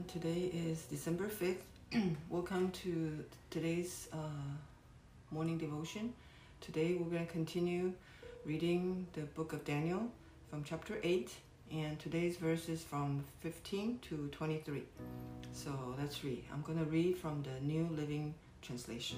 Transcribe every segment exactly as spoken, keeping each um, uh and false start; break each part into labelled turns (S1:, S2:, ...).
S1: everyone. Today is December fifth. Welcome to today's uh, morning devotion. Today we're going to continue reading the book of Daniel from chapter eight, and today's verse is from fifteen to twenty-three. So let's read. I'm going to read from the New Living Translation.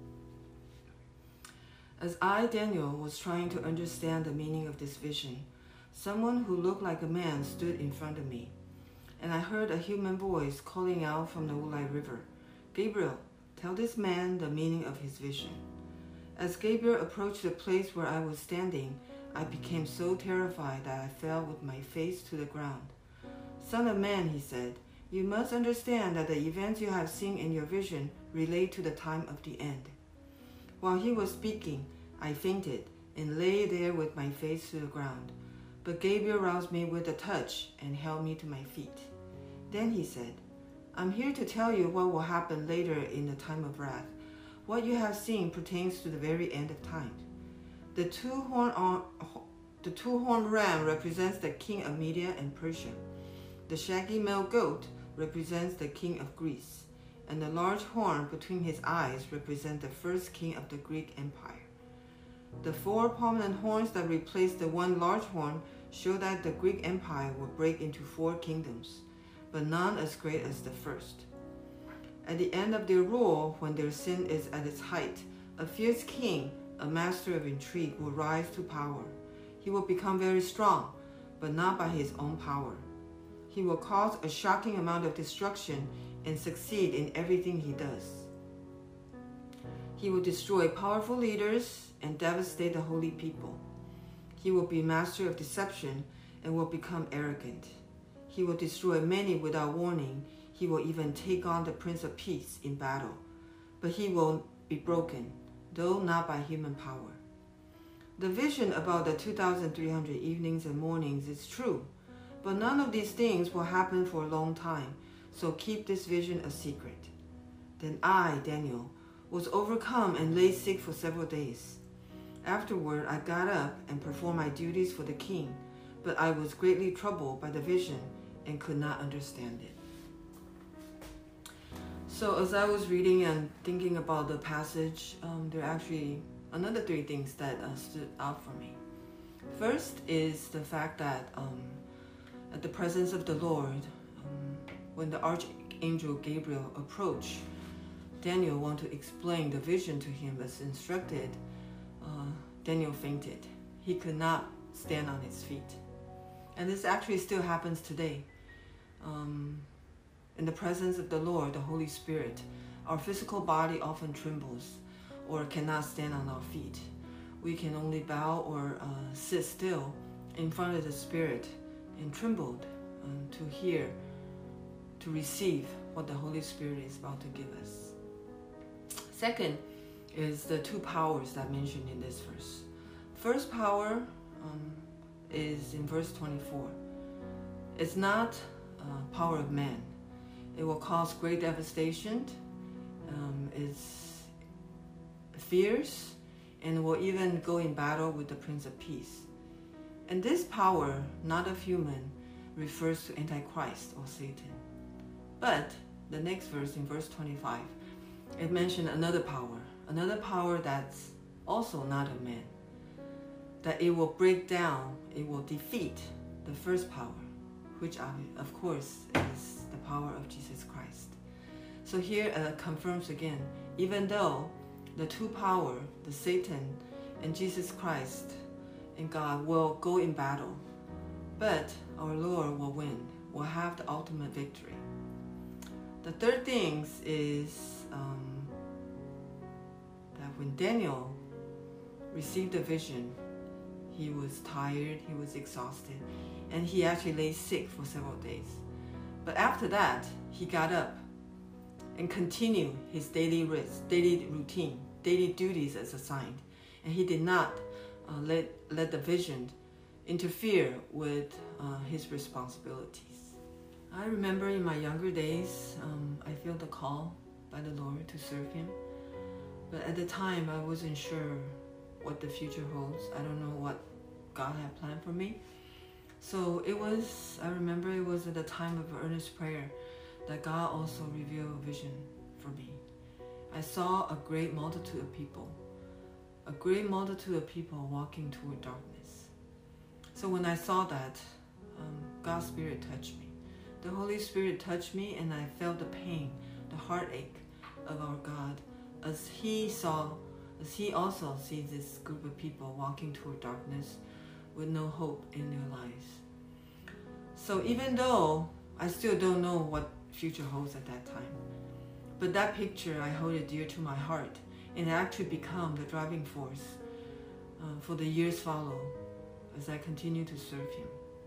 S1: As I, Daniel, was trying to understand the meaning of this vision, someone who looked like a man stood in front of me. And I heard a human voice calling out from the Ulai River, "Gabriel, tell this man the meaning of his vision." As Gabriel approached the place where I was standing, I became so terrified that I fell with my face to the ground. "Son of man," he said, "you must understand that the events you have seen in your vision relate to the time of the end." While he was speaking, I fainted and lay there with my face to the ground. But Gabriel roused me with a touch and held me to my feet. Then he said, "I'm here to tell you what will happen later in the time of wrath. What you have seen pertains to the very end of time. The two-horned the two-horned ram represents the king of Media and Persia. The shaggy male goat represents the king of Greece, and the large horn between his eyes represents the first king of the Greek Empire. The four prominent horns that replace the one large horn show that the Greek Empire will break into four kingdoms, but none as great as the first. At the end of their rule, when their sin is at its height, a fierce king, a master of intrigue, will rise to power. He will become very strong, but not by his own power. He will cause a shocking amount of destruction and succeed in everything he does. He will destroy powerful leaders and devastate the holy people. He will be master of deception and will become arrogant. He will destroy many without warning. He will even take on the Prince of Peace in battle. But he will be broken, though not by human power. The vision about the two thousand three hundred evenings and mornings is true, but none of these things will happen for a long time, so keep this vision a secret." Then I, Daniel, was overcome and lay sick for several days. Afterward, I got up and performed my duties for the king, but I was greatly troubled by the vision and could not understand it. So as I was reading and thinking about the passage, um, there are actually another three things that uh, stood out for me. First is the fact that um, at the presence of the Lord, um, when the Archangel Gabriel approached, Daniel wanted to explain the vision to him as instructed. Uh, Daniel fainted. He could not stand on his feet. And this actually still happens today. Um, in the presence of the Lord, the Holy Spirit, our physical body often trembles or cannot stand on our feet. We can only bow or uh, sit still in front of the Spirit and trembled um, to hear, to receive what the Holy Spirit is about to give us. Second is the two powers that mentioned in this verse. First power um, is in verse twenty-four. It's not uh, power of man. It will cause great devastation. Um, it's fierce and will even go in battle with the Prince of Peace. And this power, not of human, refers to Antichrist or Satan. But the next verse, in verse twenty-five, it mentioned another power, another power that's also not of man, that it will break down, it will defeat the first power, which of course is the power of Jesus Christ. So here it uh, confirms again, even though the two power, the Satan and Jesus Christ and God will go in battle, but our Lord will win, will have the ultimate victory. The third thing is um, that when Daniel received the vision, he was tired, he was exhausted, and he actually lay sick for several days. But after that, he got up and continued his daily rest, daily routine, daily duties as assigned, and he did not uh, let, let the vision interfere with uh, his responsibilities. I remember in my younger days, um, I felt the call by the Lord to serve Him. But at the time, I wasn't sure what the future holds. I don't know what God had planned for me. So it was, I remember it was at a time of earnest prayer that God also revealed a vision for me. I saw a great multitude of people, a great multitude of people walking toward darkness. So when I saw that, um, God's Spirit touched me. The Holy Spirit touched me, and I felt the pain, the heartache of our God, as He saw, as He also sees this group of people walking toward darkness with no hope in their lives. So even though I still don't know what future holds at that time, but that picture, I hold it dear to my heart, and it actually become the driving force uh, for the years follow as I continue to serve Him.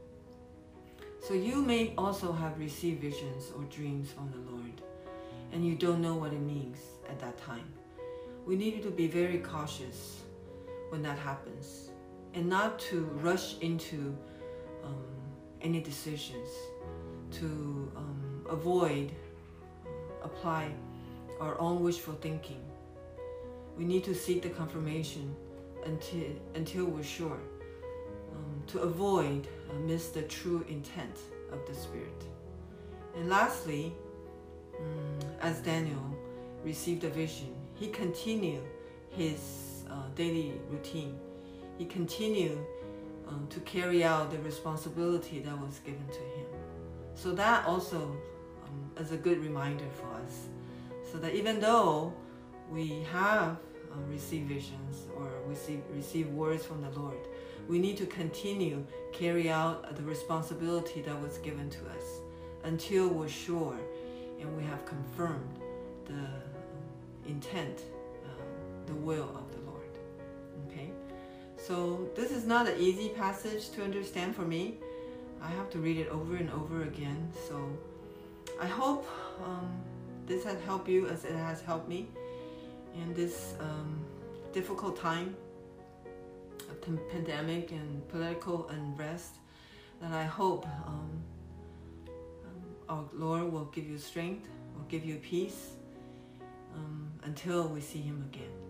S1: So you may also have received visions or dreams from the Lord, and you don't know what it means at that time. We need to be very cautious when that happens, and not to rush into um, any decisions, to um, avoid uh, apply our own wishful thinking. We need to seek the confirmation until until we're sure, um, to avoid uh, miss the true intent of the Spirit. And lastly, um, as Daniel received a vision, he continued his uh, daily routine. He continued um, to carry out the responsibility that was given to him. So that also um, is a good reminder for us, so that even though we have uh, received visions or receive, receive words from the Lord, we need to continue carry out the responsibility that was given to us until we're sure and we have confirmed the um, intent, uh, the will of the Lord. Okay, so this is not an easy passage to understand for me. I have to read it over and over again. So I hope um, this has helped you as it has helped me in this um, difficult time of the pandemic and political unrest. And I hope um, um, our Lord will give you strength, will give you peace um, until we see Him again.